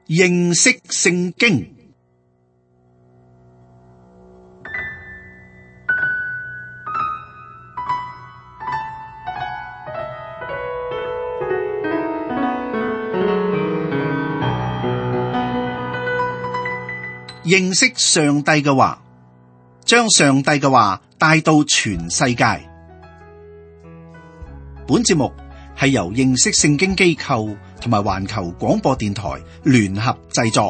認識聖經。認識上帝嘅話，將上帝嘅話帶到全世界。本節目係由認識聖經機構同埋環球廣播電台聯合製作。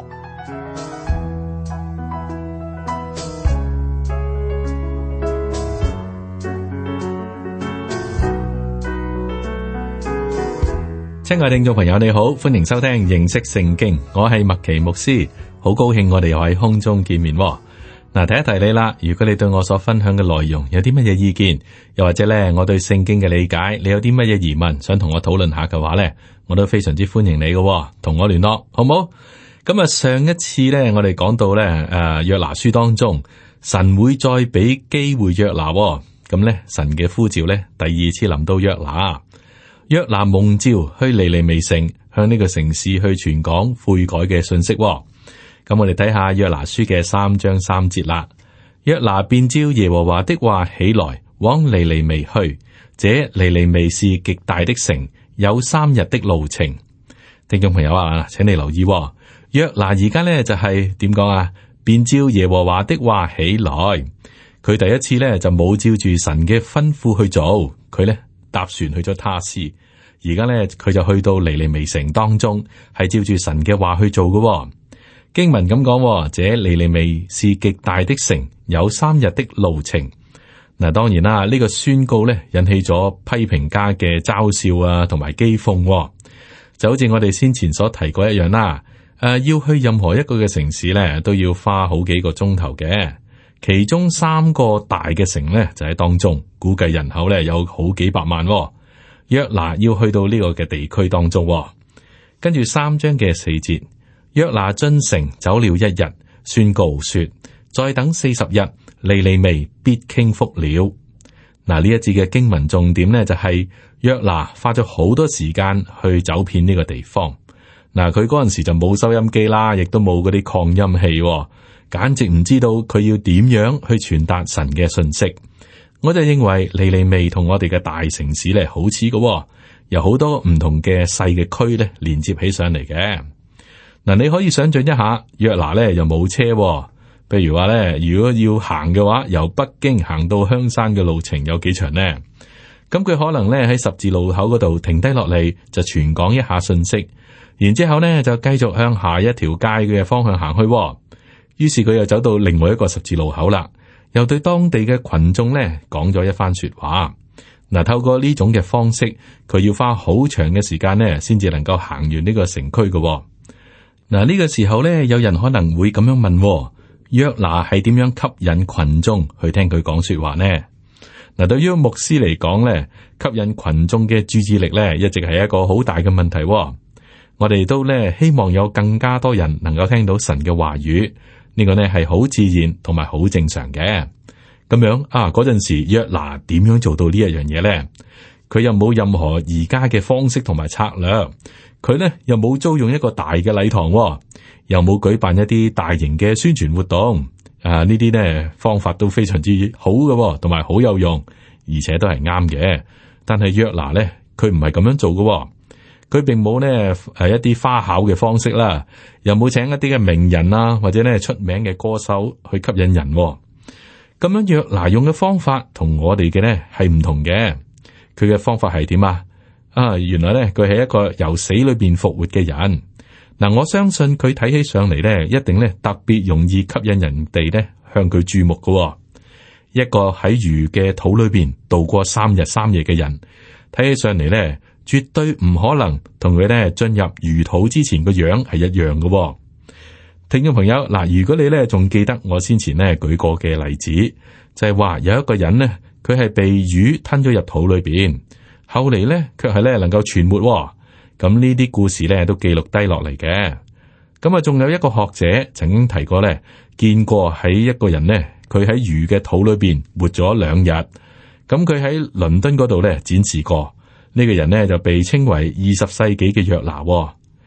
親愛聽眾朋友，你好，歡迎收聽認識聖經，我係麥奇牧師，好高興我哋又喺空中見面。嗱，提一提你啦，如果你對我所分享嘅內容有啲乜嘢意見，又或者咧我對聖經嘅理解，你有啲乜嘢疑問想同我討論下嘅話咧，我都非常之歡迎你嘅，同我聯絡好唔好？咁啊，上一次咧我哋講到咧約拿書當中，神會再俾機會約拿，咁咧神嘅呼召咧第二次臨到約拿。約拿蒙召去尼尼微城，向呢個城市去傳講悔改嘅信息。咁我哋睇下約拿書嘅3章3節啦。約拿便照耶和華的話起來，往尼尼微去。這尼尼微是極大的城，有3日的路程。聽眾朋友啊，請你留意，約拿而家咧就係點講啊？便照耶和華的話起來。佢第一次咧就冇照住神嘅吩咐去做，佢咧搭船去咗他施，而家咧佢就去到尼尼微城當中，係照住神嘅話去做嘅。經文咁講，這尼尼微是極大的城，有3日的路程。嗱，當然啦，呢個宣告咧引起咗批評家嘅嘲笑啊，同埋譏諷，就好似我哋先前所提過一樣啦。要去任何一個嘅城市咧，都要花好幾個鐘頭嘅。其中3個大嘅城咧就喺當中，估計人口咧有好幾百萬。約拿要去到呢個嘅地區當中，跟住3章嘅4節，約拿進城走了1日，宣告說：再等40日，尼尼微必傾覆了。嗱，呢一節嘅經文重點呢，就係約拿花咗好多時間去走遍呢個地方。嗱，佢嗰陣時就冇收音機啦，亦都冇嗰啲擴音器，簡直唔知道佢要點樣去傳達神嘅信息。我就認為尼尼微同我哋嘅大城市咧好似嘅，有好多唔同嘅細嘅區咧連接起上嚟嘅。嗱，你可以想象一下，約拿咧又冇車，譬如話咧，如果要行嘅話，由北京行到香山嘅路程有幾長呢？咁佢可能咧喺十字路口嗰度停低落嚟，就傳講一下信息，然之後咧就繼續向下一條街嘅方向行去。於是佢又走到另外一個十字路口啦，又對當地嘅群眾咧講咗一番說話。嗱，透過呢種嘅方式，佢要花好長嘅時間咧，先至能夠行完呢個城區嘅。嗱，呢個時候咧，有人可能會咁樣問：約拿係點樣吸引群眾去聽佢講說話呢？嗱，對於牧師嚟講咧，吸引群眾嘅注意力咧，一直係一個好大嘅問題。我哋都咧希望有更加多人能夠聽到神嘅話語。呢個呢係好自然同埋好正常嘅。咁樣啊，嗰陣時約拿點樣做到呢一樣嘢呢？佢又冇任何而家嘅方式同埋策略，佢呢又冇租用一個大嘅禮堂，又冇舉辦一啲大型嘅宣傳活動。呢啲呢方法都非常之好嘅，同埋好有用，而且都係啱嘅。但係約拿呢，佢唔係咁樣做嘅。佢並冇呢一啲花巧嘅方式啦，又冇請一啲嘅名人啊，或者呢出名嘅歌手去吸引人。咁樣約拿用嘅方法同我哋嘅呢係唔同嘅。佢嘅方法係點啊？原來呢，佢係一個由死裏邊復活嘅人。嗱，我相信佢睇起上嚟呢，一定呢特別容易吸引人哋呢向佢注目嘅。一個喺魚嘅肚裏邊度過3日3夜嘅人，睇起上嚟呢，絕對唔可能同佢咧進入魚肚之前個樣係一樣嘅。聽眾朋友，嗱，如果你咧仲記得我先前咧舉過嘅例子，就係話有一個人呢，佢係被魚吞咗入肚裏邊，後嚟咧卻係咧能夠存活。咁呢啲故事咧都記錄低落嚟嘅。咁啊，仲有一個學者曾經提過咧，見過喺一個人呢，佢喺魚嘅肚裏邊活咗2日。咁佢喺倫敦嗰度咧展示過。呢個人呢，就被稱為20世紀嘅約拿。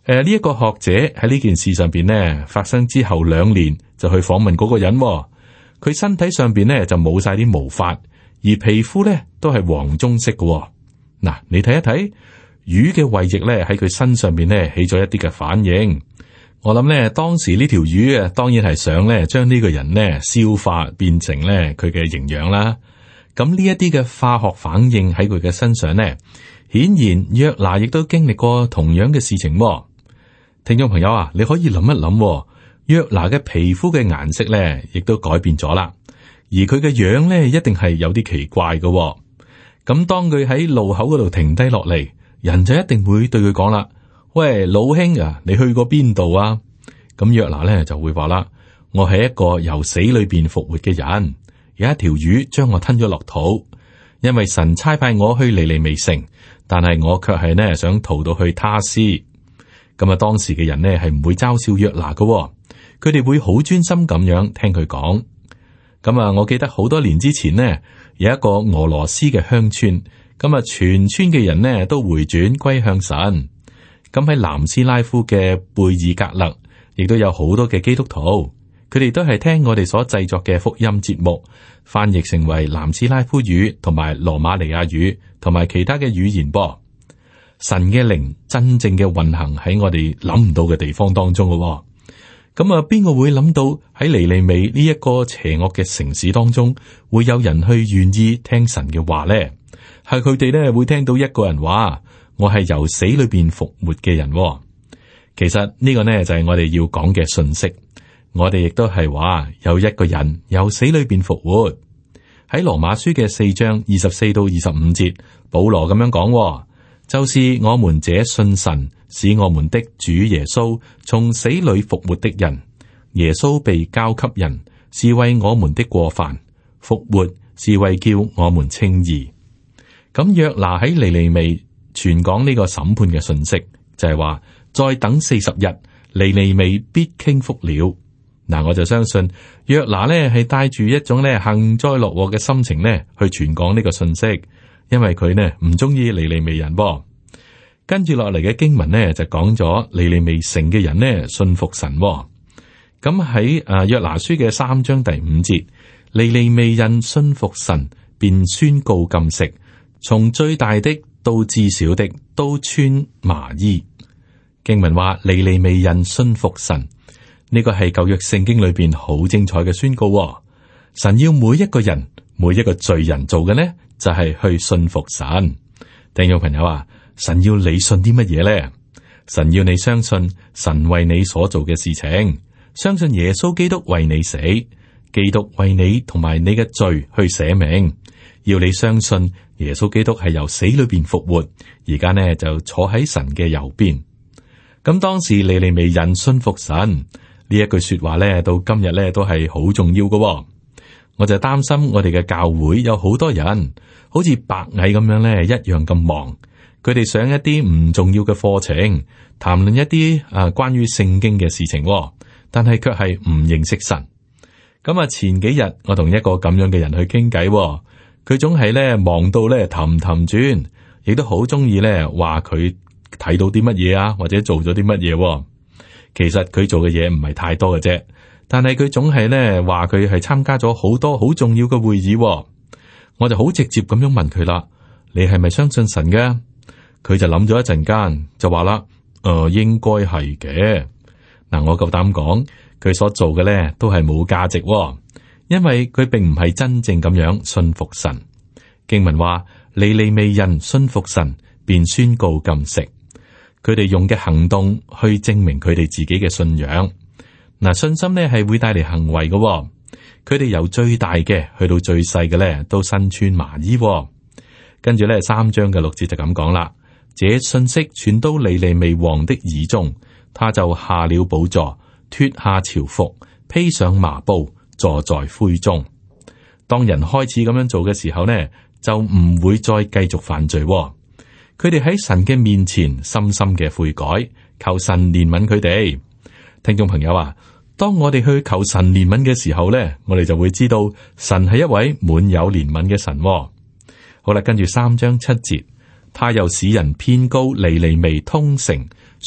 呢一個學者喺呢件事上邊呢，發生之後2年就去訪問嗰個人，佢身體上邊呢就冇晒啲毛髮，而皮膚呢都係黃棕色嘅。嗱，你睇一睇魚嘅胃液呢喺佢身上邊呢起咗一啲嘅反應。我諗呢，當時呢條魚啊，當然係想呢將呢個人呢消化變成呢佢嘅營養啦。咁呢一啲嘅化學反應喺佢嘅身上呢，顯然約拿亦都經歷過同樣嘅事情。聽眾朋友啊，你可以諗一諗，約拿嘅皮膚嘅顏色咧，亦都改變咗啦。而佢嘅樣咧，一定係有啲奇怪嘅。咁當佢喺路口嗰度停低落嚟，人就一定會對佢講啦：喂，老兄啊，你去過邊度啊？咁約拿咧就會話啦：我係一個由死裏邊復活嘅人，有一條魚將我吞咗落肚，因為神差派我去尼尼微城，但係我卻係呢想逃到去他施。咁啊，當時嘅人呢係唔會嘲笑約拿嘅，佢哋會好專心咁樣聽佢講。咁啊，我記得好多年之前呢，有一個俄羅斯嘅鄉村，咁啊，全村嘅人呢都回轉歸向神。咁喺南斯拉夫嘅貝爾格勒，亦都有好多嘅基督徒，佢哋都係聽我哋所製作嘅福音節目，翻譯成為南斯拉夫語同埋羅馬尼亞語同埋其他嘅語言噃。神嘅靈真正嘅運行喺我哋諗唔到嘅地方當中嘅。咁啊，邊個會諗到喺尼尼微呢一個邪惡嘅城市當中，會有人去願意聽神嘅話咧？係佢哋咧會聽到一個人話：我係由死裏邊復活嘅人。其實呢個呢，就係我哋要講嘅信息。我哋亦都係話有一個人由死裏邊復活。喺羅馬書嘅4章24到25節，保羅咁樣講。就是我們這信神使我們的主耶穌從死裏復活的人，耶穌被交給人，是為我們的過犯；復活是為叫我們稱義。咁約拿喺尼尼微傳講呢個審判嘅信息，就係話再等40日，尼尼微必傾覆了。嗱，我就相信約拿呢係帶住一種呢幸災樂禍嘅心情呢去傳講呢個信息。因為佢呢唔中意尼尼微人噃。跟住落嚟嘅經文呢就講咗尼尼微城嘅人呢信服神。咁喺約拿書嘅3章第5節，尼尼微人信服神，便宣告禁食，從最大的到至小的都穿麻衣。經文話尼尼微人信服神，呢個係舊約聖經裏邊好精彩嘅宣告。神要每一個人，每一個罪人做嘅呢，就係去信服神。聽眾朋友啊，神要你信啲乜嘢咧？神要你相信神為你所做嘅事情，相信耶穌基督為你死，基督為你同埋你嘅罪去捨命。要你相信耶穌基督係由死裏邊復活，而家呢就坐喺神嘅右邊。咁當時尼尼微人信服神呢一句說話咧，到今日咧都係好重要嘅。我就擔心我哋嘅教會有好多人好似白蟻咁樣咧，一樣咁忙。佢哋上一啲唔重要嘅課程，談論一啲關於聖經嘅事情，但係卻係唔認識神。咁啊，前幾日我同一個咁樣嘅人去傾偈，佢總係咧忙到咧氹氹轉，亦都好中意咧話佢睇到啲乜嘢啊，或者做咗啲乜嘢。其實佢做嘅嘢唔係太多嘅啫。但係佢總係咧話佢係參加咗好多好重要嘅會議。我就好直接咁樣問佢啦：你係咪相信神嘅？佢就諗咗一陣間，就話啦：應該係嘅。嗱，我夠膽講，佢所做嘅咧都係冇價值，因為佢並唔係真正咁樣信服神。經文話：尼尼微人信服神，便宣告禁食。佢哋用嘅行動去證明佢哋自己嘅信仰。嗱，信心咧係會帶嚟行為嘅。佢哋由最大嘅去到最細嘅咧，都身穿麻衣。跟住咧3章嘅6節就咁講啦。這信息傳到尼尼微王的耳中，他就下了寶座，脫下朝服，披上麻布，坐在灰中。當人開始咁樣做嘅時候呢，就唔會再繼續犯罪。佢哋喺神嘅面前深深嘅悔改，求神憐憫佢哋。聽眾朋友啊，當我哋去求神憐憫嘅時候呢，我哋就會知道神係一位滿有憐憫嘅神。好啦，跟住3章7節，他又使人偏高尼尼微通城，說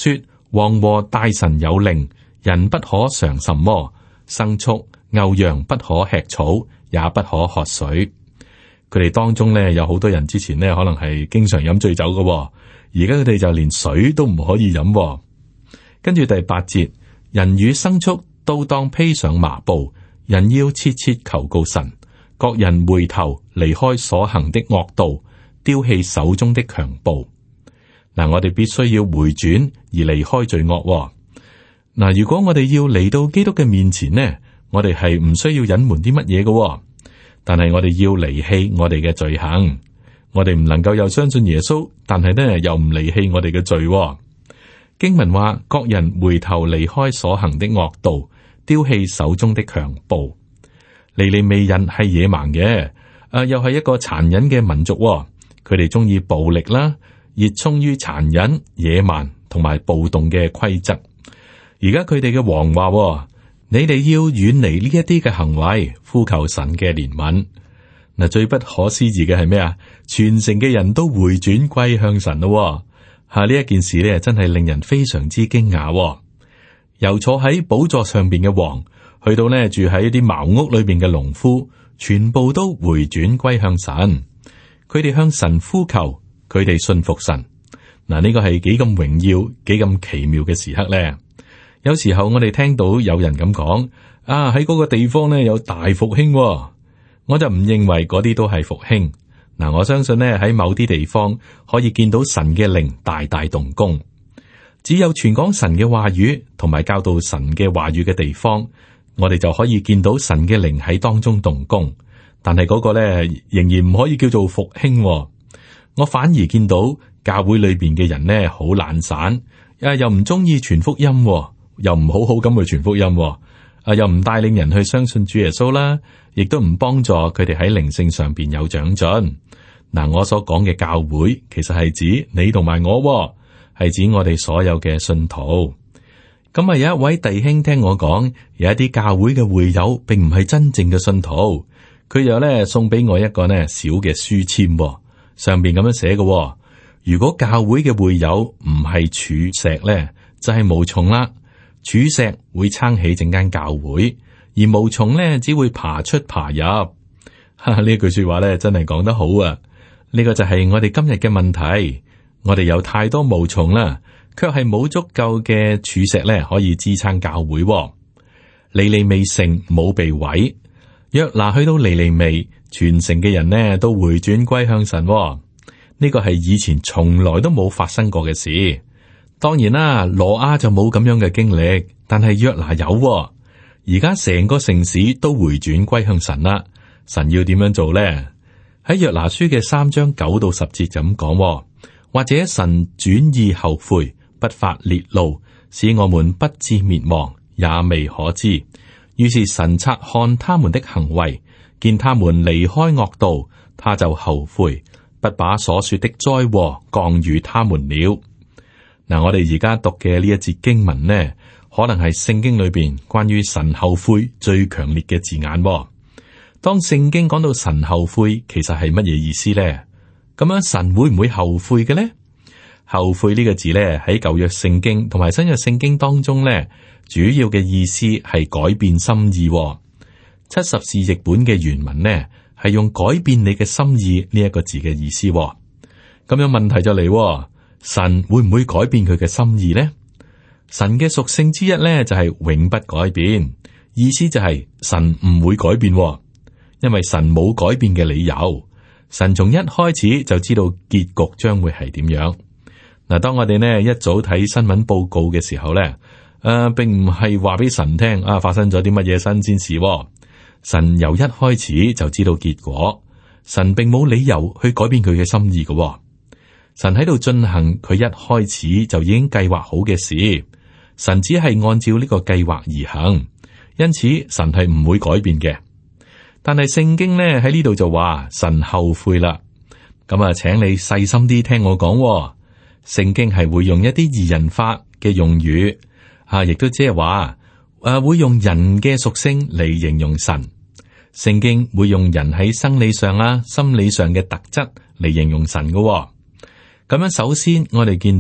王和大臣有令，人不可嘗什麼，牲畜、牛羊不可吃草，也不可喝水。佢哋當中咧有好多人之前咧可能係經常飲醉酒嘅，而家佢哋就連水都唔可以飲。跟住第8節，人與牲畜都當披上麻布，人要切切求告神，各人回頭離開所行的惡道，丟棄手中的強暴。嗱，我哋必須要回轉而離開罪惡。嗱，如果我哋要嚟到基督嘅面前呢，我哋係唔需要隱瞞啲乜嘢嘅，但係我哋要離棄我哋嘅罪行。我哋唔能夠又相信耶穌，但係呢又唔離棄我哋嘅罪。經文話，各人回頭離開所行的惡道，丟棄手中的強暴。尼尼微人係野蠻嘅，又係一個殘忍嘅民族。佢哋中意暴力啦，熱衷於殘忍、野蠻同埋暴動嘅規則。而家佢哋嘅王話，你哋要遠離呢一啲嘅行為，呼求神嘅憐憫。嗱，最不可思議嘅係咩啊？全城嘅人都回轉歸向神咯。呢一件事咧，真係令人非常之驚訝。由坐喺寶座上邊嘅王，去到呢住喺一啲茅屋裏邊嘅農夫，全部都回轉歸向神。佢哋向神呼求，佢哋信服神。嗱，呢個係幾咁榮耀、幾咁奇妙嘅時刻咧。有時候我哋聽到有人咁講，喺嗰個地方呢有大復興，我就唔認為嗰啲都係復興。嗱，我相信呢喺某啲地方可以見到神嘅靈大大動工。只有傳講神嘅話語同埋教導神嘅話語嘅地方，我哋就可以見到神嘅靈喺當中動工。但係嗰個呢仍然唔可以叫做復興。我反而見到教會裏邊嘅人呢好懶散，又唔中意傳福音，又唔好好咁去傳福音，又唔帶領人去相信主耶穌啦，亦都唔幫助佢哋喺靈性上邊有長進。嗱，我所講嘅教會其實係指你同埋我，係指我哋所有嘅信徒。咁有一位弟兄聽我講，有一啲教會嘅會友並唔係真正嘅信徒，佢又咧送俾我一個呢小嘅書籤，上邊咁樣寫嘅：如果教會嘅會友唔係柱石咧，就係毛蟲啦。柱石會撐起整間教會，而毛蟲咧只會爬出爬入。呢句說話咧真係講得好啊！呢個就係我哋今日嘅問題。我哋有太多毛蟲啦，卻係冇足夠嘅柱石咧可以支撐教會。尼尼微城冇被毀，約拿去到尼尼微，全城嘅人呢都回轉歸向神。呢個係以前從來都冇發生過嘅事。當然啦，羅亞就冇咁樣嘅經歷，但係約拿有。而家成個城市都回轉歸向神啦。神要點樣做咧？喺約拿書嘅3章9到10節就咁講，或者神轉意後悔，不發烈怒，使我們不至滅亡，也未可知。於是神察看他們的行為，見他們離開惡道，他就後悔，不把所說的災禍降與他們了。嗱，我哋而家讀嘅呢一節經文呢，可能係聖經裏邊關於神後悔最強烈嘅字眼。當聖經講到神後悔，其實係乜嘢意思呢？咁樣神會唔會後悔嘅呢？後悔呢個字呢，喺舊約聖經同埋新約聖經當中呢，主要嘅意思係改變心意。70士譯本嘅原文呢，係用改變你嘅心意呢一個字嘅意思。咁樣問題就嚟，神會唔會改變佢嘅心意呢？神嘅屬性之一呢，就係永不改變，意思就係神唔會改變。因為神冇改變嘅理由，神從一開始就知道結局將會係點樣。嗱，當我哋呢一早睇新聞報告嘅時候呢，並唔係話俾神聽發生咗啲乜嘢新鮮事。神由一開始就知道結果，神並冇理由去改變佢嘅心意嘅。神喺度進行佢一開始就已經計劃好嘅事，神只係按照呢個計劃而行，因此神係唔會改變嘅。但係聖經呢喺呢度就話神後悔啦，咁請你細心啲聽我講。聖經係會用一啲擬人化嘅用語，亦都即係話會用人嘅屬性嚟形容神。聖經會用人喺生理上啦、心理上嘅特質嚟形容神嘅。咁樣首先我哋見到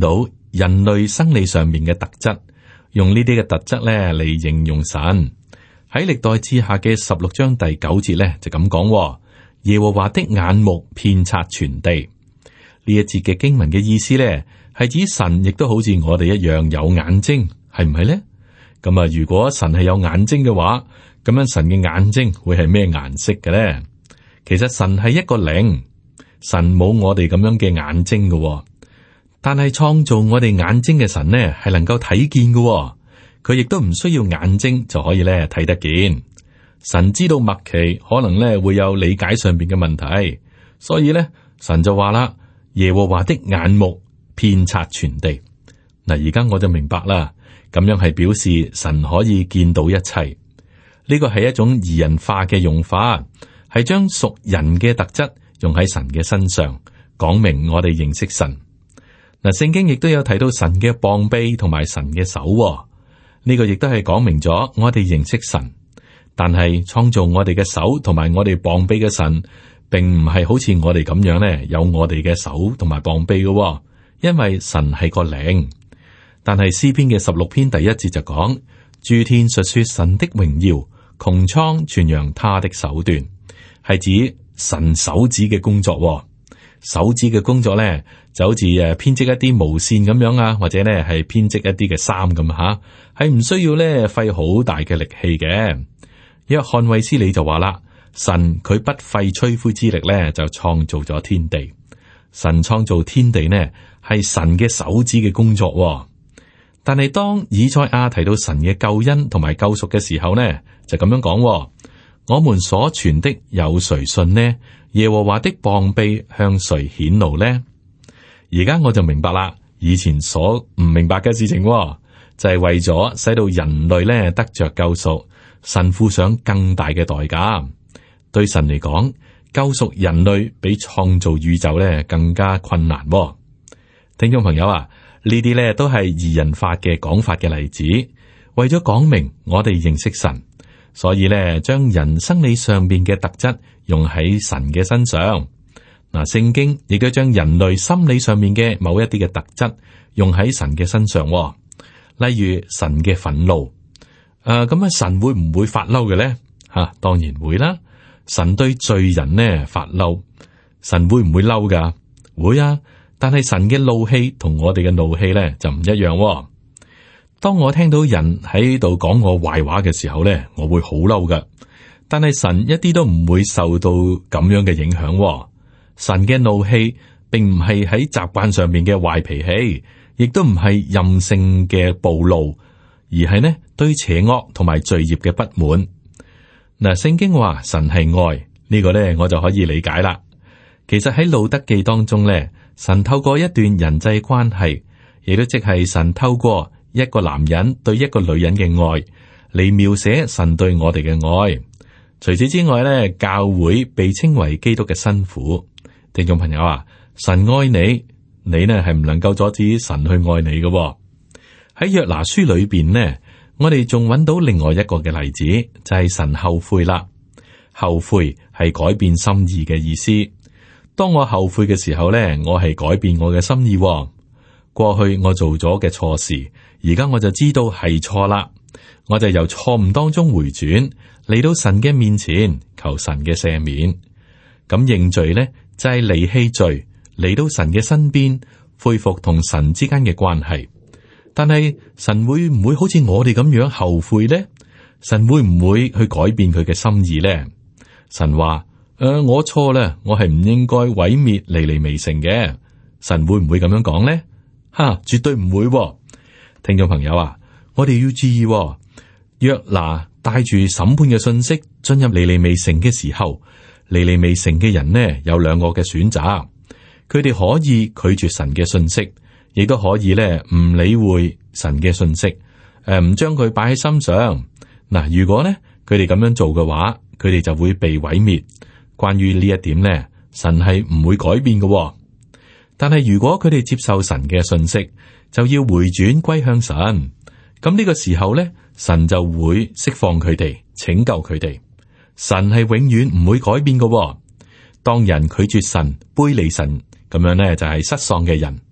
人類生理上面嘅特質，用呢啲嘅特質咧嚟形容神。喺歷代志下嘅16章第9節咧就咁講：耶和華的眼目遍察全地。呢一節嘅經文嘅意思咧係指神亦都好似我哋一樣有眼睛，係唔係咧？咁啊，如果神係有眼睛嘅話，咁樣神嘅眼睛會係咩顏色嘅咧？其實神係一個靈，神冇我哋咁樣嘅眼睛嘅，但係創造我哋眼睛嘅神呢係能夠睇見嘅，佢亦都唔需要眼睛就可以咧睇得見。神知道麥奇可能咧會有理解上邊嘅問題，所以咧神就話啦：耶和華的眼目遍察全地。嗱，而家我就明白啦，咁樣係表示神可以見到一切。呢個係一種擬人化嘅用法，係將屬人嘅特質用喺神嘅身上，講明我哋認識神。嗱，聖經亦都有提到神嘅膀臂同埋神嘅手，呢個亦都係講明咗我哋認識神。但係創造我哋嘅手同埋我哋膀臂嘅神，並唔係好似我哋咁樣咧，有我哋嘅手同埋膀臂嘅，因為神係個靈。但係詩篇嘅16篇第1節就講：諸天述說神的榮耀，穹蒼傳揚他的手段，係指神手指嘅工作。手指嘅工作咧，就好似編織一啲毛線咁樣啊，或者咧係編織一啲嘅衫咁吓，係唔需要咧費好大嘅力氣嘅。約翰衛斯理就話啦：神佢不費吹灰之力咧，就創造咗天地。神創造天地呢，係神嘅手指嘅工作。但係當以賽亞提到神嘅救恩同埋救贖嘅時候呢，就咁樣講：我們所傳的有誰信呢？耶和華的膀臂向誰顯露呢？而家我就明白啦，以前所唔明白嘅事情，就係為咗使到人類咧得着救贖，神付上更大嘅代價。對神嚟講，救贖人類比創造宇宙咧更加困難。聽眾朋友啊，呢啲咧都係擬人化嘅講法嘅例子，為咗講明我哋認識神。所以咧，將人生理上邊嘅特質用喺神嘅身上。嗱，聖經亦都將人類心理上面嘅某一啲嘅特質用喺神嘅身上。例如神嘅憤怒，咁啊，神會唔會發嬲嘅咧？吓，當然會啦。神對罪人呢發嬲，神會唔會嬲噶？會啊。但係神嘅怒氣同我哋嘅怒氣咧就唔一樣。當我聽到人喺度講我壞話嘅時候咧，我會好嬲噶。但係神一啲都唔會受到咁樣嘅影響。神嘅怒氣並唔係喺習慣上面嘅壞脾氣，亦都唔係任性嘅暴怒，而係呢對邪惡同埋罪孽嘅不滿。嗱，聖經話神係愛，呢個咧我就可以理解啦。其實喺路德記當中咧，神透過一段人際關係，亦都即係神透過一個男人對一個女人嘅愛嚟描寫神對我哋嘅愛。除此之外咧，教會被稱為基督嘅新婦。聽眾朋友啊，神愛你，你呢係唔能夠阻止神去愛你嘅。喺約拿書裏邊呢，我哋仲揾到另外一個嘅例子，就係神後悔啦。後悔係改變心意嘅意思。當我後悔嘅時候呢，我係改變我嘅心意。過去我做咗嘅錯事，而家我就知道係錯啦，我就由錯誤當中回轉，嚟到神嘅面前求神嘅赦免。咁認罪呢，就係離棄罪，嚟到神嘅身邊，恢復同神之間嘅關係。但係神會唔會好似我哋咁樣後悔呢？神會唔會去改變佢嘅心意呢？神話我錯啦，我係唔應該毀滅尼尼微城嘅。神會唔會咁樣講呢？絕對唔會。聽眾朋友啊，我哋要注意，約拿帶住審判嘅信息進入尼尼微城嘅時候，尼尼微城嘅人呢有兩個嘅選擇，佢哋可以拒絕神嘅信息，亦都可以咧唔理會神嘅信息，唔將佢擺喺心上。嗱，如果呢佢哋咁樣做嘅話，佢哋就會被毀滅。關於呢一點呢，神係唔會改變嘅。但係如果佢哋接受神嘅信息，就要回轉歸向神。咁呢個時候呢，神就會釋放佢哋，拯救佢哋。神係永遠唔會改變嘅。當人拒絕神、背離神咁樣呢，就係失喪嘅人。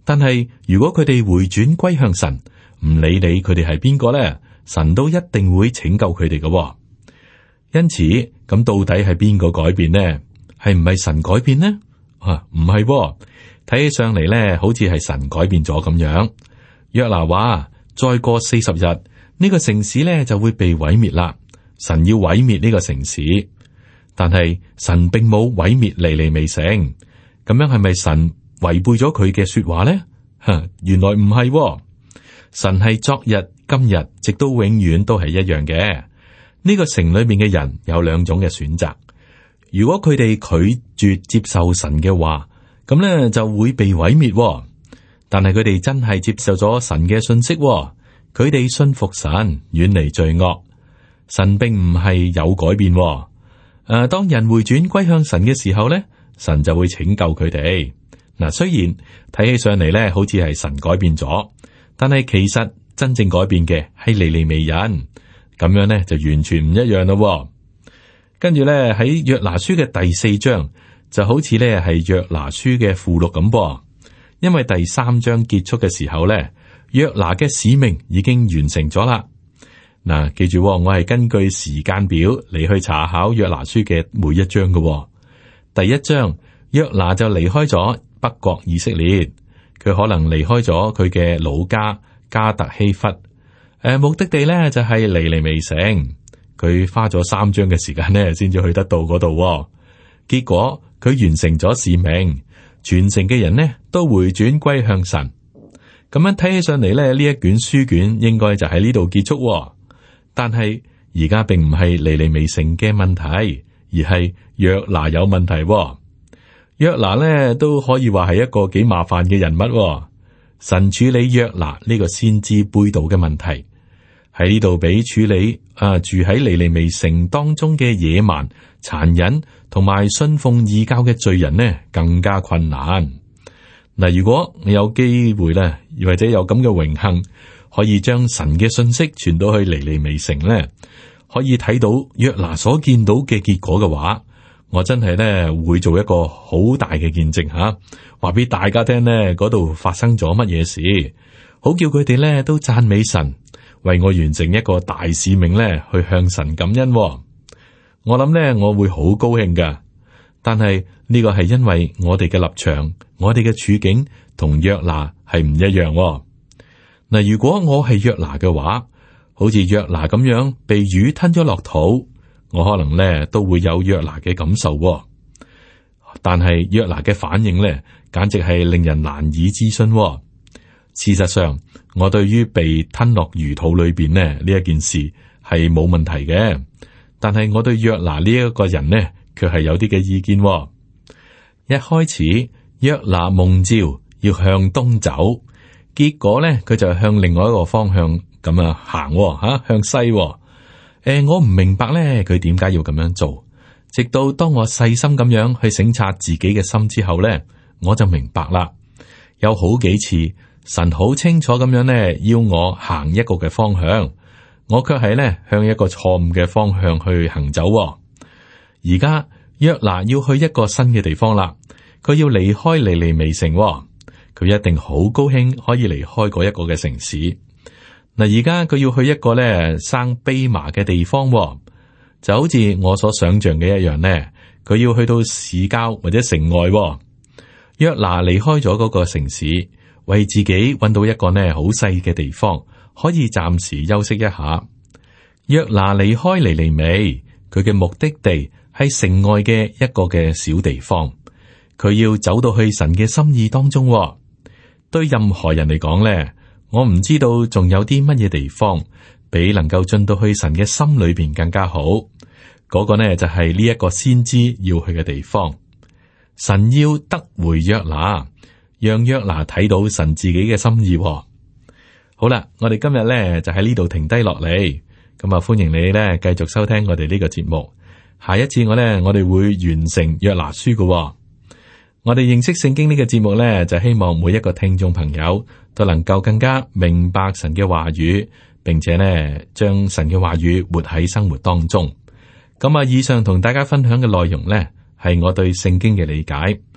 但係如果佢哋回轉歸向神，唔理你佢哋係邊個咧，神都一定會拯救佢哋嘅。因此，咁到底係邊個改變呢？係唔係神改變呢？唔係，睇起上嚟咧，好似係神改變咗咁樣。約拿話：再過40日，呢個城市咧就會被毀滅啦。神要毀滅呢個城市，但係神並冇毀滅尼尼微城。咁樣係咪神違背咗佢嘅說話呢？原來唔係，神係昨日、今日，直到永遠都係一樣嘅。呢個城裏面嘅人有兩種嘅選擇。如果佢哋拒絕接受神嘅話，咁咧就會被毀滅。但係佢哋真係接受咗神嘅信息，佢哋信服神，遠離罪惡。神並唔係有改變。當人回轉歸向神嘅時候咧，神就會拯救佢哋。嗱，雖然睇起上嚟咧，好似係神改變咗，但係其實真正改變嘅係尼尼微人。咁樣咧就完全唔一樣咯。跟住咧喺約拿書嘅第4章就好似咧係約拿書嘅附錄咁噃，因為第3章結束嘅時候咧，約拿嘅使命已經完成咗啦。嗱，記住，我係根據時間表嚟去查考約拿書嘅每一章嘅。第1章，約拿就離開咗北國以色列，佢可能離開咗佢嘅老家加特希弗。目的地咧就係尼尼微城，佢花咗3章嘅時間咧，先至去得到嗰度。結果佢完成咗使命，全城嘅人呢都回轉歸向神。咁樣睇起上嚟咧，呢一卷書卷應該就喺呢度結束。但係而家並唔係尼尼微城嘅問題，而係約拿有問題。約拿咧都可以話係一個幾麻煩嘅人物。神處理約拿呢個先知背道嘅問題，喺呢度比處理住喺尼尼微城當中嘅野蠻、殘忍同埋信奉異教嘅罪人呢更加困難。嗱，如果你有機會咧，或者有咁嘅榮幸，可以將神嘅信息傳到去尼尼微城咧，可以睇到約拿所見到嘅結果嘅話，我真係咧會做一個好大嘅見證吓，話俾大家聽呢，嗰度發生咗乜嘢事，好叫佢哋咧都讚美神，為我完成一個大使命咧，去向神感恩。我諗咧我會好高興噶，但係呢個係因為我哋嘅立場，我哋嘅處境同約拿係唔一樣。嗱，如果我係約拿嘅話，好似約拿咁樣被魚吞咗落肚，我可能咧都會有約拿嘅感受。但係約拿嘅反應咧，簡直係令人難以置信。事實上，我對於被吞落魚肚裏邊呢一件事係冇問題嘅，但係我對約拿呢一個人呢，卻係有啲嘅意見。一開始，約拿蒙召要向東走，結果咧佢就向另外一個方向咁行吓，向西。我唔明白咧佢點解要咁樣做，直到當我細心咁樣去省察自己嘅心之後咧，我就明白啦。有好幾次神好清楚咁樣咧要我行一個嘅方向，我卻係咧向一個錯誤嘅方向去行走。而家約拿要去一個新嘅地方啦，佢要離開尼尼微城，佢一定好高興可以離開嗰一個嘅城市。嗱，而家佢要去一個咧生蓖麻嘅地方，就好似我所想象嘅一樣呢，佢要去到市郊或者城外。約拿離開咗嗰個城市，為自己揾到一個呢好細嘅地方，可以暫時休息一下。約拿離開尼尼微，佢嘅目的地係城外嘅一個嘅小地方，佢要走到去神嘅心意當中。對任何人嚟講咧，我唔知道仲有啲乜嘢地方比能夠進到去神嘅心裏邊更加好。嗰個呢就係呢一個先知要去嘅地方。神要得回約拿，讓約拿睇到神自己嘅心意。好啦，我哋今日呢就喺呢度停低落嚟。咁啊，歡迎你呢繼續收聽我哋呢個節目。下一次我哋會完成約拿書嘅。我哋認識聖經呢個節目呢，就希望每一個聽眾朋友都能夠更加明白神嘅話語，並且呢將神嘅話語活喺生活當中。咁啊，以上同大家分享嘅內容呢，係我對聖經嘅理解。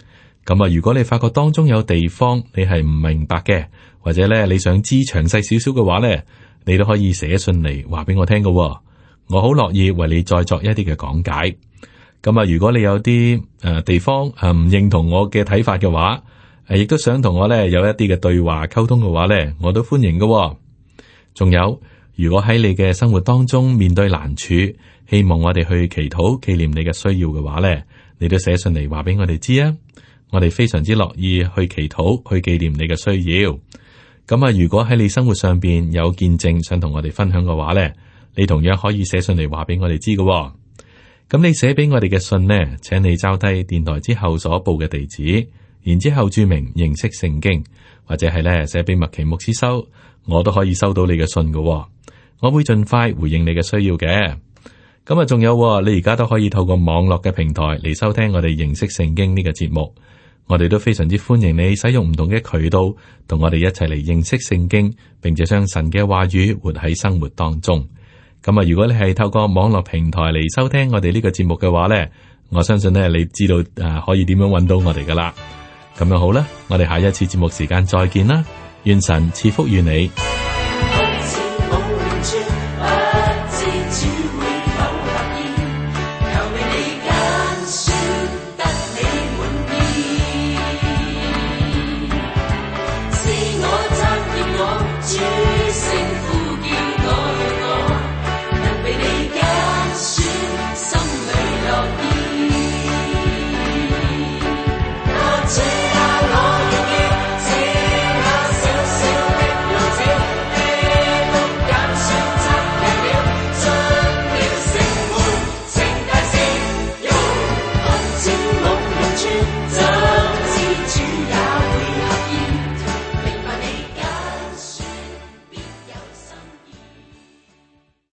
咁啊，如果你發覺當中有地方你係唔明白嘅，或者咧你想知詳細少少嘅話咧，你都可以寫信嚟話俾我聽㗎喎。我好樂意為你再作一啲嘅講解。咁啊，如果你有啲地方唔認同我嘅睇法嘅話，亦都想同我咧有一啲嘅對話溝通嘅話咧，我都歡迎㗎喎。仲有，如果喺你嘅生活當中面對難處，希望我哋去祈禱紀念你嘅需要嘅話咧，你都寫信嚟話俾我哋知啊。我哋非常之樂意去祈禱去紀念你嘅需要。咁啊，如果喺你生活上邊有見證想同我哋分享嘅話咧，你同樣可以寫信嚟話俾我哋知㗎。咁你寫俾我哋嘅信呢，請你抄低電台之後所報嘅地址，然之後注明認識聖經，或者係咧寫俾麥奇牧師收，我都可以收到你嘅信㗎。我會盡快回應你嘅需要嘅。咁啊，仲有你而家都可以透過網絡嘅平台嚟收聽我哋認識聖經呢個節目。我哋都非常之歡迎你使用唔同嘅渠道，同我哋一齊嚟認識聖經，並且將神嘅話語活喺生活當中。咁啊，如果你係透過網絡平台嚟收聽我哋呢個節目嘅話呢，我相信呢，你知道可以點樣揾到我哋噶啦。咁樣好啦，我哋下一次節目時間再見啦，願神賜福於你。